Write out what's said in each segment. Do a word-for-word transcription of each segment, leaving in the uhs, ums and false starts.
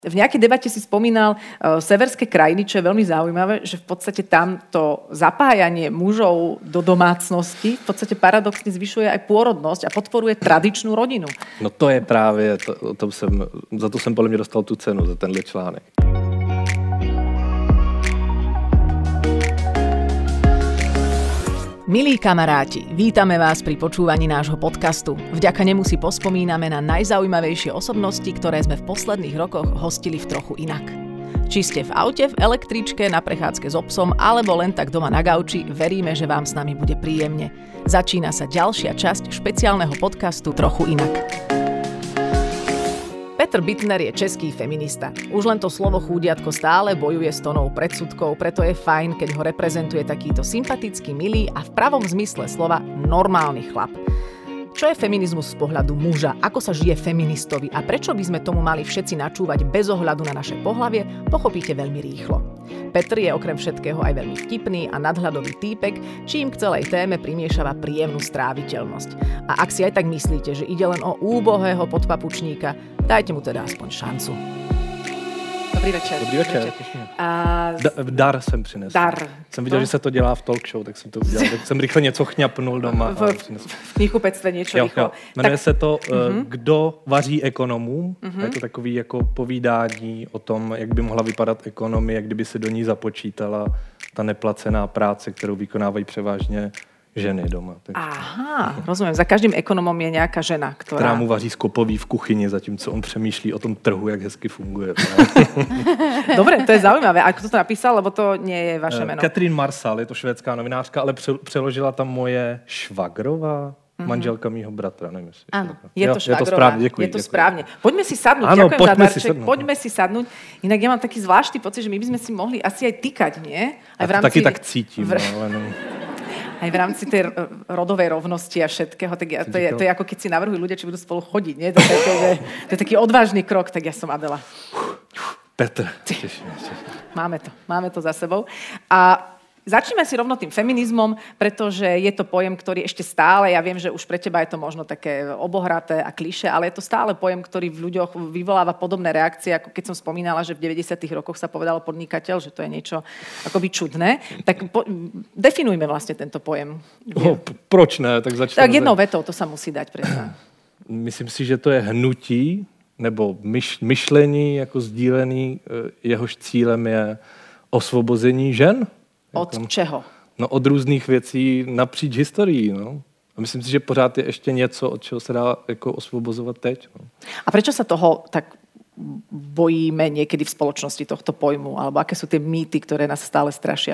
V nejakej debate si spomínal uh, severské krajiny, čo je veľmi zaujímavé, že v podstate tam to zapájanie mužov do domácnosti v podstate paradoxne zvyšuje aj pôrodnosť a podporuje tradičnú rodinu. No to je právě, to, to jsem, za to jsem podle mě dostal tu cenu, za tenhle článek. Milí kamaráti, vítame vás pri počúvaní nášho podcastu. Vďaka nemu si pospomíname na najzaujímavejšie osobnosti, ktoré sme v posledných rokoch hostili v Trochu inak. Či ste v aute, v električke, na prechádzke s obsom, alebo len tak doma na gauči, veríme, že vám s nami bude príjemne. Začína sa ďalšia časť špeciálneho podcastu Trochu inak. Petr Bittner je český feminista. Už len to slovo chúdiatko stále bojuje s tonou predsudkov, preto je fajn, keď ho reprezentuje takýto sympatický, milý a v pravom zmysle slova normálny chlap. Čo je feminizmus z pohľadu muža? Ako sa žije feministovi? A prečo by sme tomu mali všetci načúvať bez ohľadu na naše pohlavie? Pochopíte veľmi rýchlo. Petr je okrem všetkého aj veľmi vtipný a nadhľadový týpek, čím k celej téme primiešava príjemnú stráviteľnosť. A ak si aj tak myslíte, že ide len o úbohého podpapučníka, dajte mu teda aspoň šancu. Dobrý večer. Dobrý večer. A... Da, dar jsem přinesl. Dar. Jsem viděl, no? Že se to dělá v talk show, tak jsem to udělal. Tak jsem rychle něco chňapnul doma. V, v knihkupectve niečo jo, rýchlo. Jo. Jmenuje tak... se to uh-huh. Kdo vaří ekonomům. Uh-huh. Je to takový jako povídání o tom, jak by mohla vypadat ekonomie, kdyby se do ní započítala ta neplacená práce, kterou vykonávají převážně ženy doma. Takže. Aha, rozumiem. Za každým ekonomom je nejaká žena, ktorá... Ktorá mu vaří skopový v kuchyni, zatímco on přemýšlí o tom trhu, jak hezky funguje. Dobre, to je zaujímavé. A kto to napísal, lebo to nie je vaše meno? Katrin Marsal, je to švédská novinářka, ale přeložila tam moje švagrová, mm-hmm. manželka mýho bratra. Nevím, jestli áno, je to švagrová. Je to správne, děkuji. Je to děkuji. správne. Poďme si sadnúť. Áno, ďakujem poďme za darček. si sadnúť. Poďme si sadnúť. Inak ja mám taký zvláštny pocit, že my by sme si mohli asi aj tykať, nie? Aj v rámci... Taky tak cítim. V... No, no. Aj v rámci tej rodovej rovnosti a všetkého, tak ja, to, je, to je ako keď si navrhujú ľudia, či budú spolu chodiť, nie? To je, to, je, to je taký odvážny krok, tak ja som Adela. Petr. Máme to, máme to za sebou. A začneme si rovno tým feminizmom, pretože je to pojem, ktorý ešte stále, ja viem, že už pre teba je to možno také obohraté a klišé, ale je to stále pojem, ktorý v ľuďoch vyvoláva podobné reakcie, ako keď som spomínala, že v deväťdesiatych rokoch sa povedalo podnikateľ, že to je niečo akoby čudné. Tak po, definujme vlastne tento pojem. Oh, proč ne? Tak začneme. Tak jednou vetou, to sa musí dať predsa. Myslím si, že to je hnutí, nebo myš, myšlení jako sdílený, jehož cílem je osvobození žen. Od jako, čeho? No od různých věcí napříč historií, no. A myslím si, že pořád je ještě něco, od čeho se dá jako osvobozovat teď. No. A prečo sa toho tak bojíme niekedy v spoločnosti tohto pojmu? Alebo aké sú tie mýty, ktoré nás stále strašia?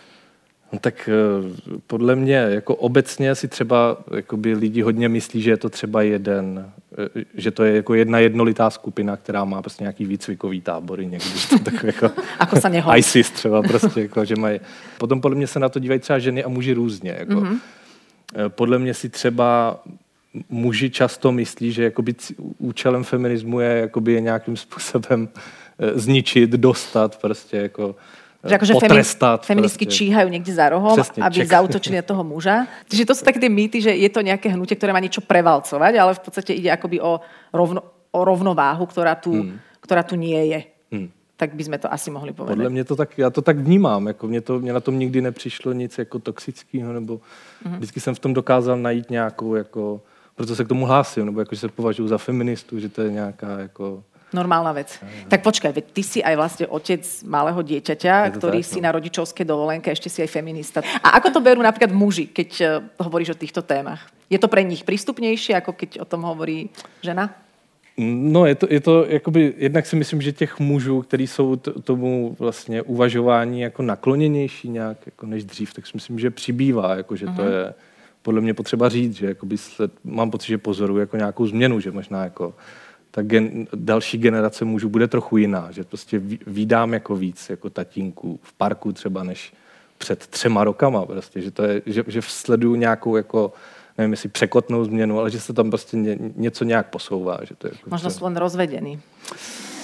No tak podle mě jako obecně si třeba jakoby lidi hodně myslí, že je to třeba jeden, že to je jako jedna jednolitá skupina, která má prostě nějaký výcvikový tábory někdy. Tak jako Ako sa nehodí. ISIS třeba prostě, jako, že mají. Potom podle mě se na to dívají třeba ženy a muži různě. Jako. Mm-hmm. Podle mě si třeba muži často myslí, že jakoby účelem feminismu je, jakoby je nějakým způsobem zničit, dostat prostě jako že akože potrestat. Feministky číhajú niekde za rohom, Přesně, aby ček. zaútočili na toho muža. Čiže to sú také tie mýty, že je to nejaké hnutie, ktoré má niečo prevalcovať, ale v podstate ide akoby o, rovno, o rovnováhu, ktorá tu, hmm. ktorá tu nie je. Hmm. Tak by sme to asi mohli povedať. Podle mě to tak, já to tak vnímám. Jako mě, to, mě na tom nikdy nepřišlo nic jako toxického, nebo hmm. vždycky jsem v tom dokázal najít nějakou, jako, proto se k tomu hlásím, nebo jako, že se považuji za feministu, že to je nějaká jako... Normálna vec. Aj, tak počkaj, veď ty si aj vlastne otec malého dieťaťa, ktorý tak, si no. na rodičovskej dovolenke, ešte si aj feminista. A ako to berú napríklad muži, keď uh, hovoríš o týchto témach? Je to pre nich prístupnejšie, ako keď o tom hovorí žena? No, je to, je to jakoby, jednak si myslím, že těch mužů, kteří jsou t- tomu vlastně uvažování jako nakloněnější nějak, jako než dřív, tak si myslím, že přibývá, jako, že uh-huh. to je podle mě potřeba říct, že jakoby sled, mám pocit, že pozoruju jako nějakou změnu, že možná jako ta gen, další generace mužů bude trochu jiná, že prostě vídám jako víc jako tatínků v parku třeba než před třema rokama prostě, že to je, že, že sleduju nějakou jako, nevím jestli překotnou změnu, ale že se tam prostě ně, něco nějak posouvá. Že to je jako možno sú len rozvedení.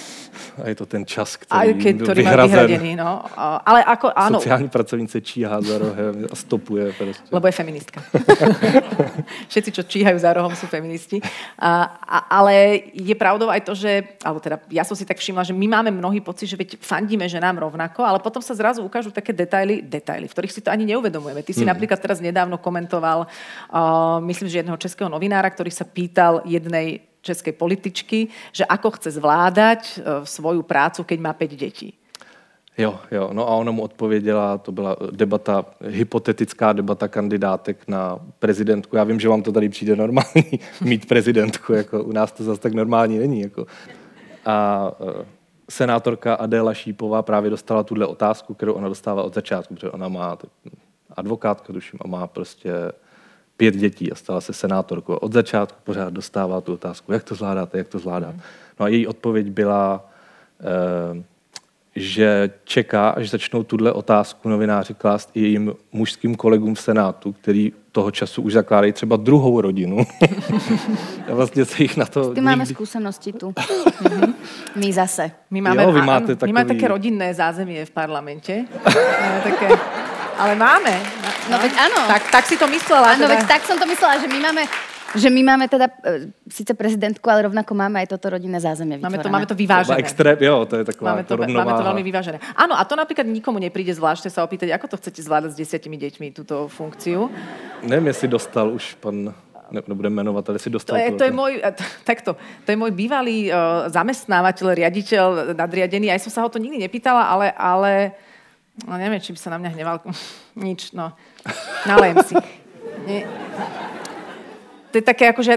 A je to ten čas, který, Aj keď, byl ktorý vyhrazen. má vyhradený. No. Ale ako, áno. Sociální pracovnice číhá za rohem a stopuje. Prostě. Lebo je feministka. Všetci, čo číhajú za rohom, sú feministi. A, a, ale je pravdou aj to, že, alebo teda ja som si tak všimla, že my máme mnohý pocit, že veď fandíme ženám rovnako, ale potom sa zrazu ukážu také detaily, detaily, v ktorých si to ani neuvedomujeme. Ty si mm. napríklad teraz nedávno komentoval, uh, myslím, že jedného českého novinára, ktorý sa pýtal jednej českej političky, že ako chce zvládať uh, svoju prácu, keď má päť detí. Jo, jo, no a ona mu odpověděla, to byla debata, hypotetická debata kandidátek na prezidentku. Já vím, že vám to tady přijde normální mít prezidentku, jako u nás to zase tak normální není. Jako. A uh, senátorka Adéla Šípová právě dostala tuhle otázku, kterou ona dostává od začátku, protože ona má advokátka, tuším, a má prostě pět dětí a stala se senátorkou. Od začátku pořád dostává tu otázku, jak to zvládáte, jak to zvládáte. No a její odpověď byla, uh, že čeká, až začnou tuhle otázku novináři klást i jejím mužským kolegům v Senátu, který toho času už zakládají třeba druhou rodinu. A vlastně se jich na to... Ty nikdy... máme skúsenosti tu. My zase. My máme, jo, vy máte áno, takový... my máme také rodinné zázemie v parlamente. Máme také... Ale máme. No, no veď áno. Tak, tak si to myslela. Áno, teda... veď tak som to myslela, že my máme... Že my máme teda e, síce prezidentku, ale rovnako máme aj toto rodinné zázemie vytvorené. Máme to, máme to vyvážené. Extrém, jo, to je taková máme to, rovnováha. Máme to veľmi vyvážené. Áno, a to napríklad nikomu nepríde zvláštne sa opýtať, ako to chcete zvládať s desiatimi deťmi, túto funkciu. Neviem, jestli dostal už pan... Ne, nebudem jmenovat, ale si dostal to. Je, to, to, je môj, takto, to je môj bývalý uh, zamestnávateľ, riaditeľ, nadriadený. Aj som sa ho to nikdy nepýtala, ale, ale no, neviem, či by sa na mňa hneval. Nič, no. Nalejem si. Nie. To je také, akože,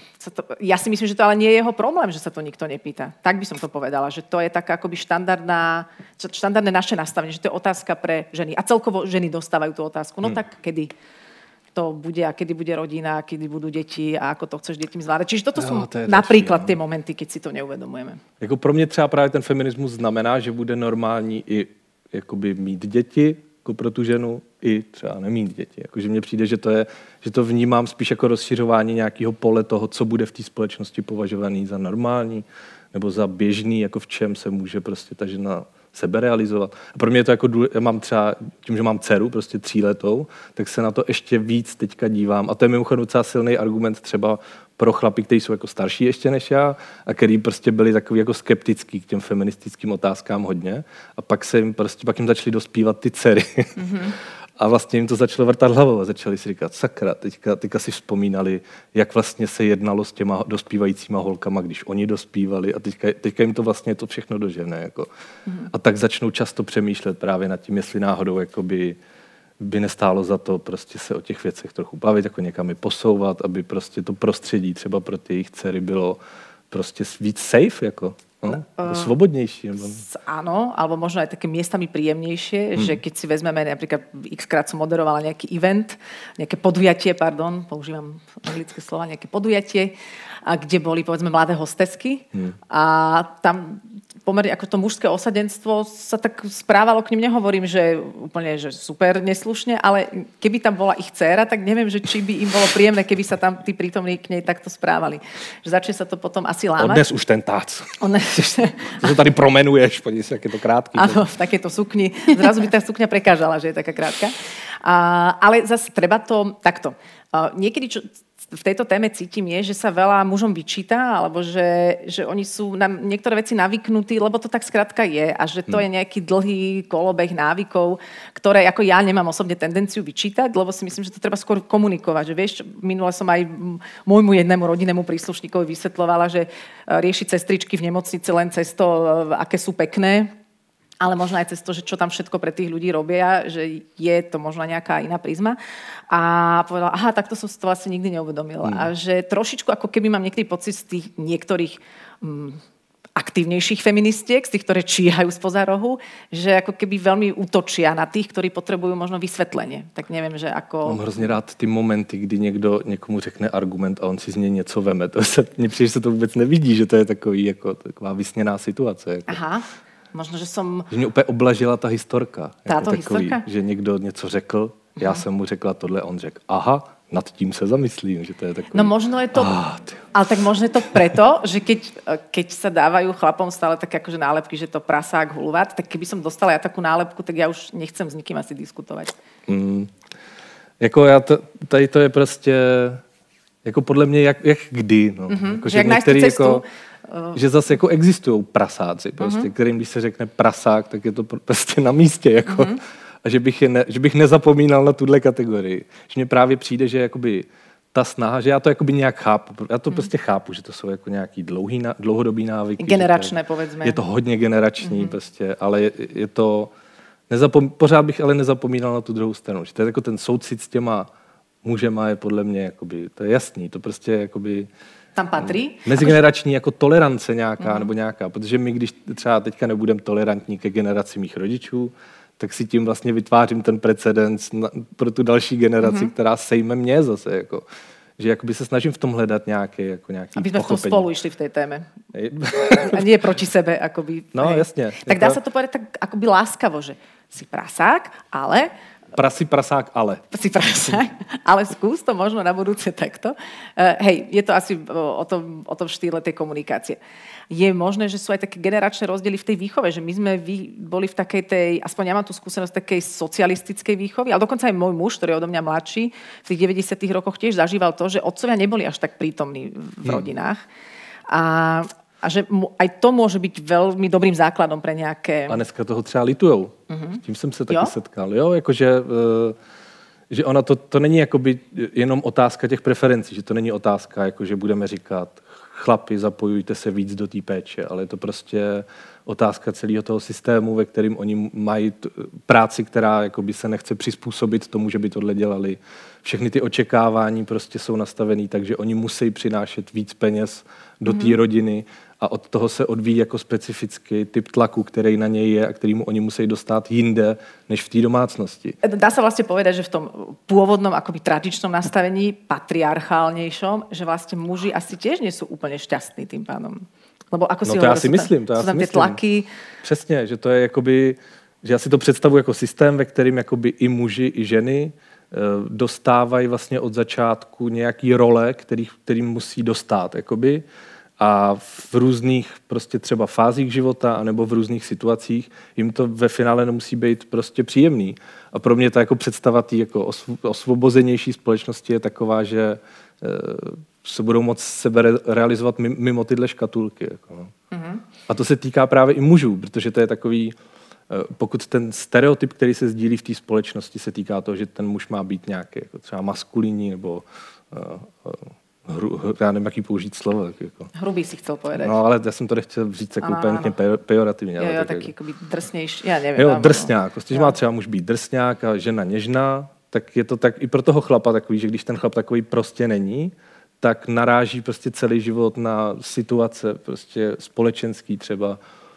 ja si myslím, že to ale nie je jeho problém, že sa to nikto nepýta. Tak by som to povedala, že to je taká akoby štandardná, štandardné naše nastavenie, že to je otázka pre ženy. A celkovo ženy dostávajú tú otázku. No hmm. tak kedy to bude a kedy bude rodina, kedy budú deti a ako to chceš deťmi zvládať. Čiže toto jo, sú to napríklad začí, tie momenty, keď si to neuvedomujeme. Jako pro mě třeba právě ten feminismus znamená, že bude normální i jakoby mít děti, jako pro tu ženu, i třeba nemít děti. Jakože mně přijde, že to, je, že to vnímám spíš jako rozšiřování nějakého pole toho, co bude v té společnosti považovaný za normální nebo za běžný, jako v čem se může prostě ta žena seberealizovat. A pro mě je to jako důle, já mám třeba, tím, že mám dceru, prostě tříletou, tak se na to ještě víc teďka dívám. A to je mimochodem docela silný argument třeba pro chlapy, kteří jsou jako starší ještě než já a který prostě byli takový jako skeptický k těm feministickým otázkám hodně. A pak se jim prostě, pak jim začaly dospívat ty dcery. Mm-hmm. A vlastně jim to začalo vrtat hlavou a začali si říkat, sakra, teďka, teďka si vzpomínali, jak vlastně se jednalo s těma dospívajícíma holkama, když oni dospívali a teďka, teďka jim to vlastně to všechno dožene. Jako. Mm. A tak začnou často přemýšlet právě nad tím, jestli náhodou jakoby, by nestálo za to prostě se o těch věcech trochu bavit, jako někam je posouvat, aby prostě to prostředí třeba pro ty jejich dcery bylo prostě víc safe, jako. No, uh, svobodnejšie. Áno, alebo možno aj také miestami príjemnejšie, hmm. že keď si vezmeme, napríklad x-krát som moderovala nejaký event, nejaké podujatie, pardon, používam anglické slova, nejaké podujatie, a kde boli, povedzme, mladé hostesky hmm. a tam pomerne ako to mužské osadenstvo sa tak správalo k nim, nehovorím, že úplne že super neslušne, ale keby tam bola ich dcéra, tak neviem, že či by im bolo príjemné, keby sa tam tí prítomní k nej takto správali. Že začne sa to potom asi lámať. Odnes už ten tác. Odnes To tady promenuješ, podívej si, jak je to krátký. Áno, v takéto sukni. Zrazu by tá sukňa prekážala, že je taká krátka. A, ale zase treba to takto. A niekedy, čo v tejto téme cítim, je, že sa veľa mužom vyčíta, alebo že, že oni sú na niektoré veci navyknutí, lebo to tak skrátka je a že to hmm. je nejaký dlhý kolobeh návykov, ktoré ako ja nemám osobne tendenciu vyčítať, lebo si myslím, že to treba skôr komunikovať. Že vieš, minule som aj môjmu jednému rodinnému príslušníkovi vysvetľovala, že rieši sestričky v nemocnici len cez to, aké sú pekné, ale možno aj cez to, že čo tam všetko pre tých ľudí robia, že je to možno nejaká iná prízma. A povedala, aha, takto som si to vlastne nikdy neuvedomila. Mm. A že trošičku, ako keby mám niektorý pocit z tých niektorých mm, aktívnejších feministiek, z tých, ktoré číhajú spoza rohu, že ako keby veľmi útočia na tých, ktorí potrebujú možno vysvetlenie. Tak neviem, že ako... Mám hrozně rád ty momenty, kdy někdo někomu řekne argument a on si z něj něco veme. To se, mně přijde, že se to vůbec nevidí, že to je takový, jako, taková vysněná situace. Jako. Aha. Možno, že som... Že mě úplně oblažila ta historka. Táto jako takový, historka? že někdo něco řekl, já jsem mu řekla tohle, on řekl, aha, nad tím se zamyslím, že to je takový... No možno je to... Ah, ale tak možno je to preto, že keď, keď sa dávajú chlapom stále také akože nálepky, že to prasák, hulvát, tak keby som dostala ja takú nálepku, tak ja už nechcem s nikým asi diskutovať. Mm, jako já to, tady to je prostě jako podle mě jak, jak kdy. No. Mm-hmm. Jako, že jak některý cestu, jako... Uh... že zase jako existují prasáci, prostě, mm-hmm. kterým když se řekne prasák, tak je to prostě na místě. Jako. Mm-hmm. A že bych, je ne, že bych nezapomínal na tuhle kategorii. Že mně právě přijde, že jakoby ta snaha, že já to jakoby nějak chápu. Já to mm-hmm. prostě chápu, že to jsou jako nějaký dlouhý, dlouhodobý návyky. Generačné, povedzme. Je to hodně generační, mm-hmm. prostě, ale je, je to... Nezapom, pořád bych ale nezapomínal na tu druhou stranu. Že to je jako ten soucit s těma mužema je podle mě, jakoby, to je jasný, to prostě jakoby... Tam patří? Mezigenerační jako tolerance nějaká, mm. nebo nějaká, protože my, když třeba teďka nebudeme tolerantní ke generaci mých rodičů, tak si tím vlastně vytvářím ten precedens na, pro tu další generaci, mm-hmm. která sejme mě zase, jako, že jakoby se snažím v tom hledat nějaké, jako nějaký aby jsme pochopení. v tom spolu išli v té téme. A nie proti sebe, akoby. No, hej. Jasně. Tak dá sa to povedať tak akoby láskavo, že si prasák, ale... Prasi, prasák, ale. Si prasák, ale skús to možno na budúce takto. Uh, hej, je to asi o tom, o tom štýle tej komunikácie. Je možné, že sú aj také generačné rozdiely v tej výchove, že my sme vy, boli v takej tej, aspoň ja mám tú skúsenosť takej socialistickej výchovy, ale dokonca aj môj muž, ktorý je odo mňa mladší, v tých deväťdesiatych rokoch tiež zažíval to, že otcovia neboli až tak prítomní v rodinách. A A že aj to môže byť veľmi dobrým základom pre nejaké... A dneska toho třeba litujou. Uh-huh. S tím jsem se taky jo? setkal. Jo, jakože, že ona to, to není jakoby jenom otázka těch preferencí, že to není otázka, jako že budeme říkat chlapi, zapojujte se víc do té péče, ale je to prostě otázka celého toho systému, ve kterým oni mají t- práci, která jakoby se nechce přizpůsobit tomu, že by tohle dělali. Všechny ty očekávání prostě jsou nastavený, takže oni musí přinášet víc peněz do té mm-hmm. rodiny a od toho se odvíjí jako specifický typ tlaku, který na něj je a kterýmu oni musí dostat jinde, než v té domácnosti. Dá sa vlastne povedať, že v tom pôvodnom akoby tradičnom nastavení, patriarchálnejšom, že vlastne muži asi tiež nie sú úplne šťastní tým pádom. Lebo ako si no to hovoril, já si myslím, to já sú si tam tie myslím. tlaky. Přesně, že to je jakoby, že já si to představuji jako systém, ve kterým jakoby i muži, i ženy dostávají vlastně od začátku nějaký role, který, kterým musí dostat, jakoby, a v různých prostě třeba fázích života anebo v různých situacích jim to ve finále nemusí být prostě příjemný. A pro mě ta jako představa tý jako osvobozenější společnosti je taková, že se budou moct sebe realizovat mimo tyhle škatulky. Jako, no. Mm-hmm. A to se týká právě i mužů, protože to je takový, pokud ten stereotyp, který se sdílí v té společnosti, se týká toho, že ten muž má být nějaký jako třeba maskulinní nebo uh, hru, já nevím, jaký použít slovo. Tak jako. Hrubý si chcel povedať. No, ale já jsem to nechtěl říct jako úplně pejorativně. Jo, jo, tak, tak jako, jako drsnější, já nevím. Jo, drsňák. Když má třeba muž být drsňák a žena něžná, tak je to tak i pro toho chlapa takový, že když ten chlap takový prostě není, tak naráží prostě celý život na situace prostě společenský třeba,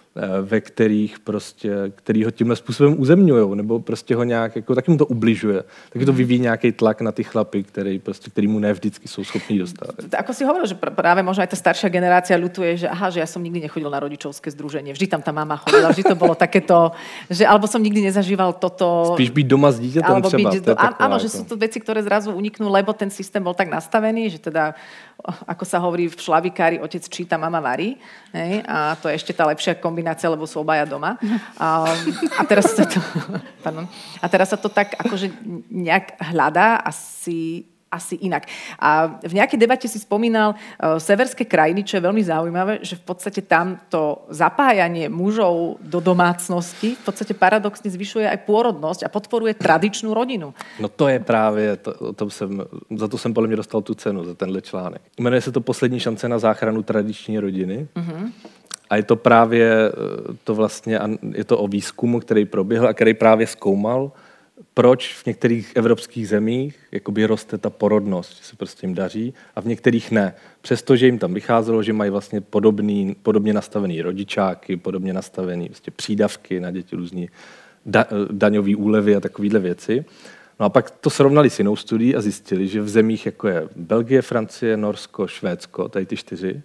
ve kterých prostě, který ho tímhle způsobem uzemňujou, nebo prostě ho nějak, jako, taky mu to ubližuje. Taky to vyvíjí nějaký tlak na ty chlapy, který, prostě, který mu ne vždycky jsou schopní dostat. Ako si hovoril, že práve možno aj tá staršia generácia ľutuje, že aha, že ja som nikdy nechodil na rodičovské združenie, vždy tam tá mama chodila, vždy to bolo takéto, že alebo som nikdy nezažíval toto. Spíš byť doma s dítětem třeba. Byť, do, taková, áno, že sú to veci, ktoré zrazu uniknú, lebo ten systém bol tak nastavený, že teda, ako sa hovorí v šlavikári, otec číta, mama varí. Hej? A to je ešte tá lepšia kombinácia, lebo sú obaja doma. A, a, teraz sa to, pardon, a teraz sa to tak akože nejak hľadá asi, asi inak. A v nejakej debate si spomínal uh, severské krajiny, čo je veľmi zaujímavé, že v podstate tam to zapájanie mužov do domácnosti v podstate paradoxne zvyšuje aj pôrodnosť a podporuje tradičnú rodinu. No to je právě, to, o tom jsem, za to jsem podle mě dostal tu cenu, za tenhle článek. Jmenuje se to Poslední šance na záchranu tradiční rodiny. Mm-hmm. A je to právě to vlastně, je to o výzkumu, který proběhl a který právě zkoumal, proč v některých evropských zemích jakoby roste ta porodnost, že se prostě jim daří a v některých ne. Přestože jim tam vycházelo, že mají vlastně podobný, podobně nastavený rodičáky, podobně nastavený vlastně přídavky na děti, různý da, daňový úlevy a takovéhle věci. No a pak to srovnali s jinou studií a zjistili, že v zemích jako je Belgie, Francie, Norsko, Švédsko, tady ty čtyři,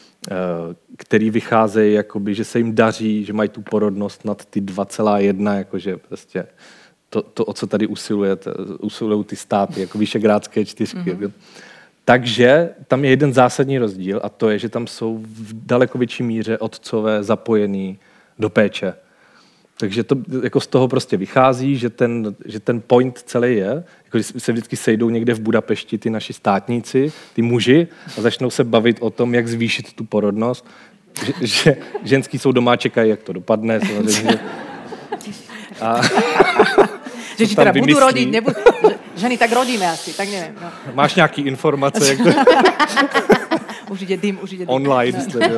který vycházejí, jakoby, že se jim daří, že mají tu porodnost nad ty dva celá jedna, jakože prostě to, to, o co tady usiluje, usilují ty státy, jako Visegrádské čtyřky. Mm-hmm. Takže tam je jeden zásadní rozdíl a to je, že tam jsou v daleko větší míře otcové zapojený do péče. Takže to jako z toho prostě vychází, že ten, že ten point celý je, jako se vždycky sejdou někde v Budapešti ty naši státníci, ty muži a začnou se bavit o tom, jak zvýšit tu porodnost. Že, že ženský jsou doma, čekají, jak to dopadne. Samozřejmě. A že ti teda budú rodiť, nebudú... Ženy, tak rodíme asi, tak neviem. No. Máš nějaký informace? Jak to... už ide dym, už ide dym. Online. No.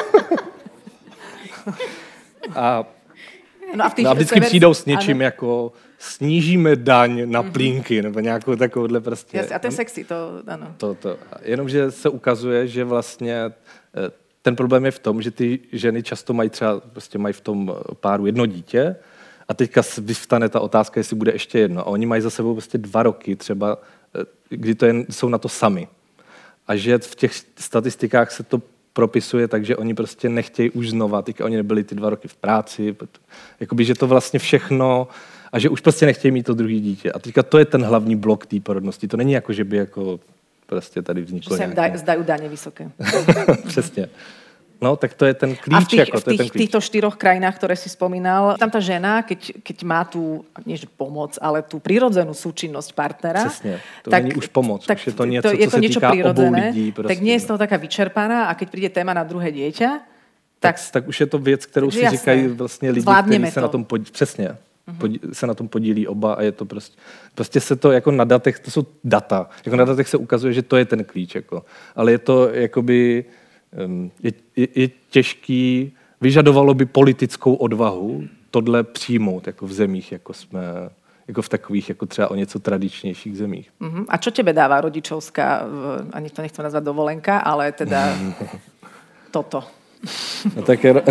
a no a, v tých no a vždycky sever... přijdou s něčím ano. jako snížíme daň na mm-hmm. plínky, nebo nějakou takovouhle prostě. Jasne, a to je sexy, to ano. To, to. Jenomže se ukazuje, že vlastně ten problém je v tom, že ty ženy často mají třeba, prostě mají v tom páru jedno dítě a teďka vyvstane ta otázka, jestli bude ještě jedno. A oni mají za sebou prostě dva roky třeba, kdy to jen, jsou na to sami. A že v těch statistikách se to propisuje, takže oni prostě nechtějí už znova, teďka oni nebyli ty dva roky v práci, jakoby, že to vlastně všechno, a že už prostě nechtějí mít to druhý dítě. A teďka to je ten hlavní blok té porodnosti. To není jako, že by jako prostě tady vzniklo nějaké... Že sa im zdajú dane vysoké. Přesně. No, tak to je ten klíč. A v tých, ako, v tých, týchto štyroch krajinách, ktoré si spomínal, tam tá žena, keď, keď má tú, nie že pomoc, ale tú prirodzenú súčinnosť partnera. Přesně, to tak, není už pomoc, tak, už je to niečo, to, je co to se niečo týká obou lidí. Prostě. Tak nie je z toho taká vyčerpaná a keď príde téma na druhé dieťa, tak... Tak, tak už je to věc, kterou si jasné. Říkají vlastně lidi, kteří se to. na tom podílí. Přesně. Podí, se na tom podílí oba a je to prostě, prostě se to jako na datech, to jsou data, jako na datech se ukazuje, že to je ten klíč, jako. Ale je to jakoby, je, je, je těžký, vyžadovalo by politickou odvahu tohle přijmout, jako v zemích, jako jsme, jako v takových, jako třeba o něco tradičnějších zemích. Uh-huh. A čo tebe dáva rodičovská, ani to nechcem nazvať dovolenka, ale teda toto? No tak je...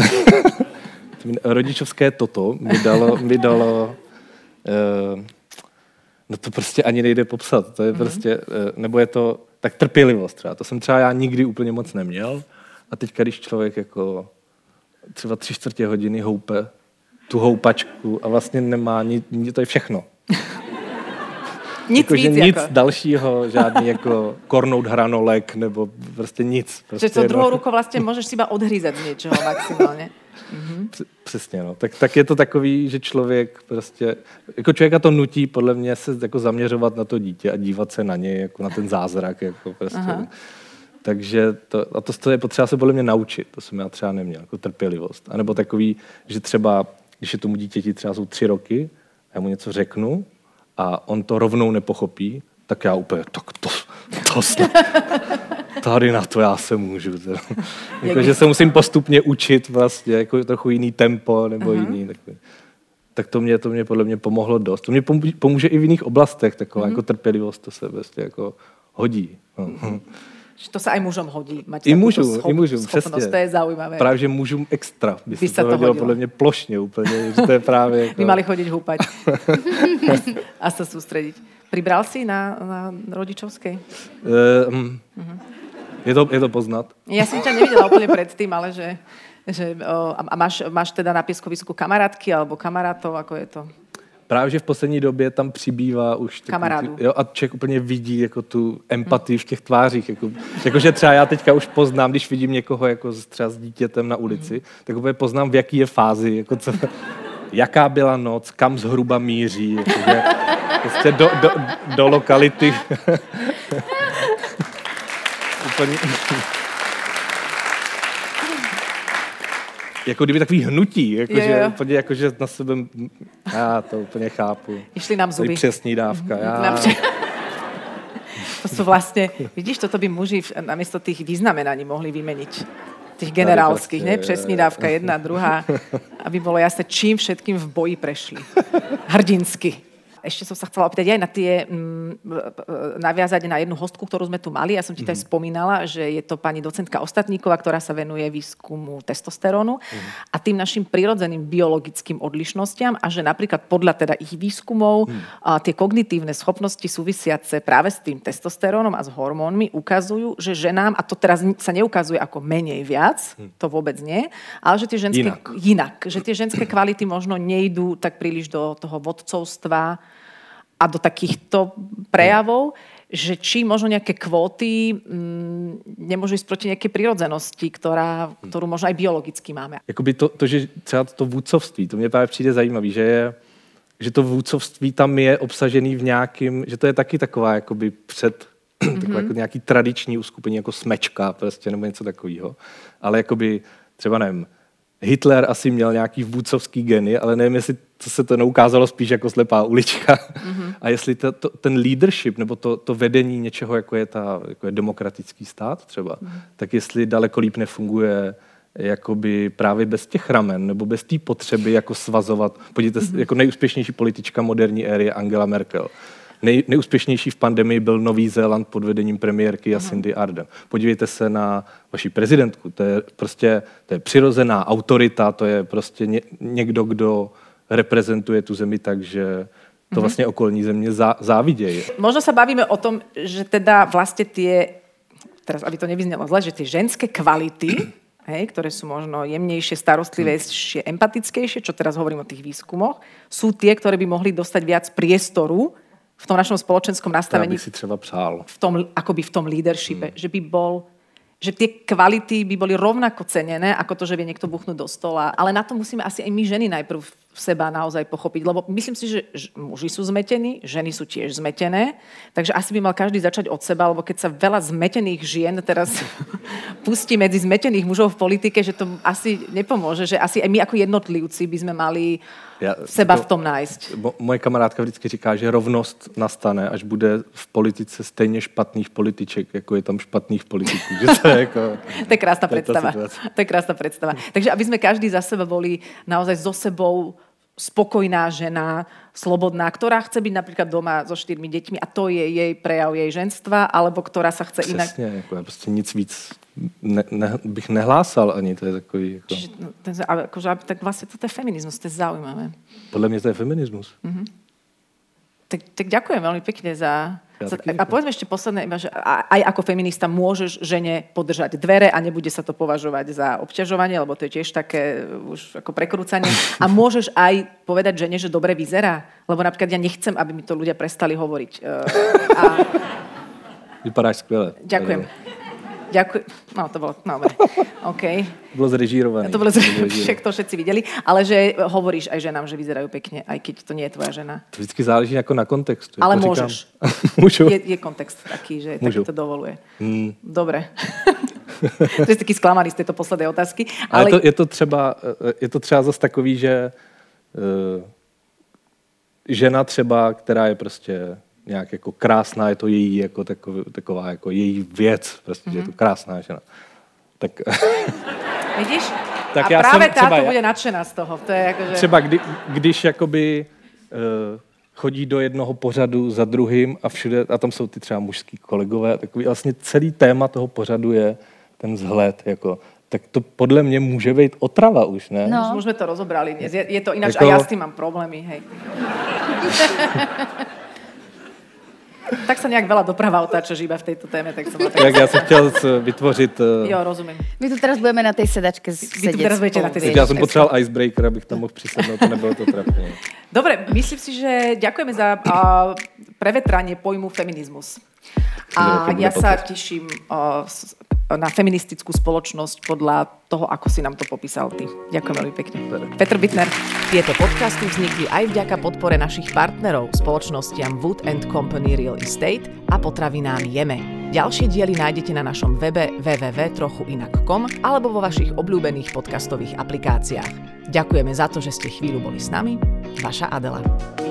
Rodičovské toto mi dalo, mi dalo uh, no to prostě ani nejde popsat, to je mm-hmm. prostě, uh, nebo je to tak trpělivost třeba, to jsem třeba já nikdy úplně moc neměl a teďka, když člověk jako třeba tři čtvrtě hodiny houpe tu houpačku a vlastně nemá nic, to je všechno. Nic jako, víc, nic jako. dalšího, žádný jako kornout hranolek, nebo prostě nic. Prostě, že to druhou rukou vlastně můžeš si iba odhryzat z něčeho maximálně. Mm-hmm. Přesně, no. Tak, tak je to takový, že člověk prostě, jako člověka to nutí podle mě se jako zaměřovat na to dítě a dívat se na něj, jako na ten zázrak, jako prostě. Aha. Takže to, a to, to je potřeba se podle mě naučit, to jsem já třeba neměl, jako trpělivost. A nebo takový, že třeba, když je tomu dítěti třeba jsou tři roky, já mu něco řeknu a on to rovnou nepochopí, tak já úplně, tak to, to snad, tady na to já se můžu. Jako, že se musím postupně učit vlastně, jako trochu jiný tempo nebo uh-huh. jiný. Tak, tak to mě, to mě podle mě pomohlo dost. To mě pomůže i v jiných oblastech, taková uh-huh. jako trpělivost, to se vlastně jako hodí. Uh-huh. To sa aj mužom hodí. Mať I mužu, schop, i mužu, přesně. To je zaujímavé. Právě, že mužům extra by, by se to hodilo podle mě plošně úplně. Že to je právě jako... By mali chodiť húpať. A sa sústrediť. Pribral si na, na rodičovskej? Um, uh-huh. je, to, je to poznat. Ja som ťa nevidela úplne predtým, ale že... že o, a máš, máš teda na pieskovisku kamarátky alebo kamarátov, ako je to? Právě, že v poslední době tam přibývá už... Kamarádů. Jo, a člověk úplně vidí jako tu empatii v těch tvářích. Jako, jakože třeba já teďka už poznám, když vidím někoho jako třeba s dítětem na ulici, mm. tak úplně poznám, v jaký je fázi, jako co, jaká byla noc, kam zhruba míří. Jakože, prostě do, do, do lokality. úplně... Jako kdyby takový hnutí, jakože úplně jakože na sebe, já to úplně chápu. Išli nám zuby. To je přesný dávka. Já... To sú vlastne, vidíš, toto by muži namiesto tých vyznamenaní mohli vymeniť. Tých generálskych, ne? Přesný dávka, jedna, druhá. Aby bolo jasné, čím všetkým v boji prešli. Hrdinsky. ešte som sa chcela opýtať aj na tie, m, naviazať na jednu hostku, ktorú sme tu mali. Ja som ti mm-hmm. to aj spomínala, že je to pani docentka Ostatníková, ktorá sa venuje výskumu testosterónu mm-hmm. a tým našim prirodzeným biologickým odlišnostiam a že napríklad podľa teda ich výskumov mm. a tie kognitívne schopnosti súvisiace práve s tým testosterónom a s hormónmi ukazujú, že ženám, a to teraz sa neukazuje ako menej viac, mm. to vôbec nie, ale že tie ženské inak. inak, že tie ženské kvality možno nejdú tak príliš do toho vodcovstva a do takýchto prejavov, že či možno nejaké kvóty m, nemôžu ísť proti nejakej prirodzenosti, ktorá, ktorú možno aj biologicky máme. Jakoby to, to, že třeba to vůdcovství, to mě právě přijde zajímavý, že, je, že to vůdcovství tam je obsažený v nějakým, že to je taky taková jakoby před mm-hmm. takové jako nějaký tradiční uskupení, jako smečka prostě, nebo něco takového. Ale jakoby třeba nevím, Hitler asi měl nějaký vůdcovský geny, ale nevím, jestli to se to neukázalo spíš jako slepá ulička. Mm-hmm. A jestli to, to, ten leadership, nebo to, to vedení něčeho, jako je, ta, jako je demokratický stát třeba, mm-hmm. tak jestli daleko líp nefunguje jakoby právě bez těch ramen, nebo bez té potřeby jako svazovat. Podívejte, mm-hmm. jako nejúspěšnější politička moderní éry je Angela Merkel. Nej, nejúspěšnější v pandemii byl Nový Zéland pod vedením premiérky Jacindy Ardern. Podívejte se na vaši prezidentku. To je prostě to je přirozená autorita, to je prostě ně, někdo, kdo reprezentuje tu zemi tak, že to vlastně okolní země zá, závidějí. Možno sa bavíme o tom, že teda vlastne tie, teraz aby to nevyznelo zle, že tie ženské kvality, hej, ktoré sú možno jemnejšie, starostlivejšie, empatickejšie, čo teraz hovorím o tých výskumoch, sú tie, ktoré by mohli dostať viac priestoru v tom našom spoločenskom nastavení. Ja by si třeba přál. V tom, akoby v tom leadershipe, hmm. že by bol, že tie kvality by boli rovnako cenené, ako to, že vie niekto buchnúť do stola. Ale na to musíme asi aj my ženy najprv seba naozaj pochopiť, lebo myslím si, že muži sú zmetení, ženy sú tiež zmetené, takže asi by mal každý začať od seba, lebo keď sa veľa zmetených žien teraz pustí medzi zmetených mužov v politike, že to asi nepomôže, že asi aj my ako jednotlivci by sme mali ja, seba to, v tom nájsť. Moje kamarádka vždycky říká, že rovnost nastane, až bude v politice stejně špatných političek, jako je tam špatných politiků. Že to, je jako, to je krásna predstava. To je krásna predstava. Takže aby sme každý za seba boli naozaj so sebou spokojná žena, slobodná, ktorá chce byť napríklad doma so štyrmi deťmi a to je jej prejav jej ženstva, alebo ktorá sa chce Přesně, inak... Přesně, jako ja prostě nic víc ne, ne, bych nehlásal ani, to je takový... Jako... Čiže, no, ten, akože, tak vlastne to je feminizmus, to je zaujímavé. Podľa mňa to je feminizmus. Mm-hmm. Tak, tak ďakujem veľmi pekne za... Ja za a povedzme ešte posledné, že aj ako feminista môžeš žene podržať dvere a nebude sa to považovať za obťažovanie, lebo to je tiež také už ako prekrúcanie. A môžeš aj povedať žene, že dobre vyzerá, lebo napríklad ja nechcem, aby mi to ľudia prestali hovoriť. A... Vypadáš skvěle. Ďakujem. Ďakujem. No, to bolo, no, dobre. OK. Bolo zrežírované. To bolo zrežírované, to všetci videli. Ale že hovoríš aj ženám, že vyzerajú pekne, aj keď to nie je tvoja žena. To vždycky záleží ako na kontextu. Ale to môžeš. Môžu. Je, je kontext taký, že taký to dovoluje. Hmm. Dobre. To je taký sklamaný z tejto poslednej otázky. Ale, ale je, to, je, to třeba, je to třeba zase takový, že uh, žena třeba, která je prostě nějak jako krásná, je to její jako takový, taková jako její věc, prostě, mm-hmm. že je to krásná žena. Tak... Vidíš? Tak a já práve jsem třeba, táto bude nadšená z toho. To je jako, že... Třeba kdy, když jakoby uh, chodí do jednoho pořadu za druhým a všude, a tam jsou ty třeba mužský kolegové, takový vlastně celý téma toho pořadu je ten vzhled, jako tak to podle mě může být otrava už, ne? No. Už sme to rozobrali dnes. Je, je to ináč, jako... a ja s tým mám problémy, hej. Tak sa nejak veľa doprava otáča iba v tejto téme, tak som tak... Jak ja som chtěl vytvořit... Uh... Jo, rozumím. My tu teraz budeme na tej sedačke sedieť. Vy tu teraz budete na tej sedačke. Ja som potreboval icebreaker, abych tam mohl přisednout, to nebylo to trapné. Dobre, myslím si, že ďakujeme za uh, prevetranie pojmu feminizmus. A ja sa teším uh, na feministickú spoločnosť podľa toho, ako si nám to popísal ty. Ďakujem veľmi pekne. Petr Bittner. Tieto podcasty vznikli aj vďaka podpore našich partnerov, spoločnostiam Wood and Company Real Estate a potravinám Jeme. Ďalšie diely nájdete na našom webe w w w bodka trochu inak bodka com alebo vo vašich obľúbených podcastových aplikáciách. Ďakujeme za to, že ste chvíľu boli s nami. Vaša Adela.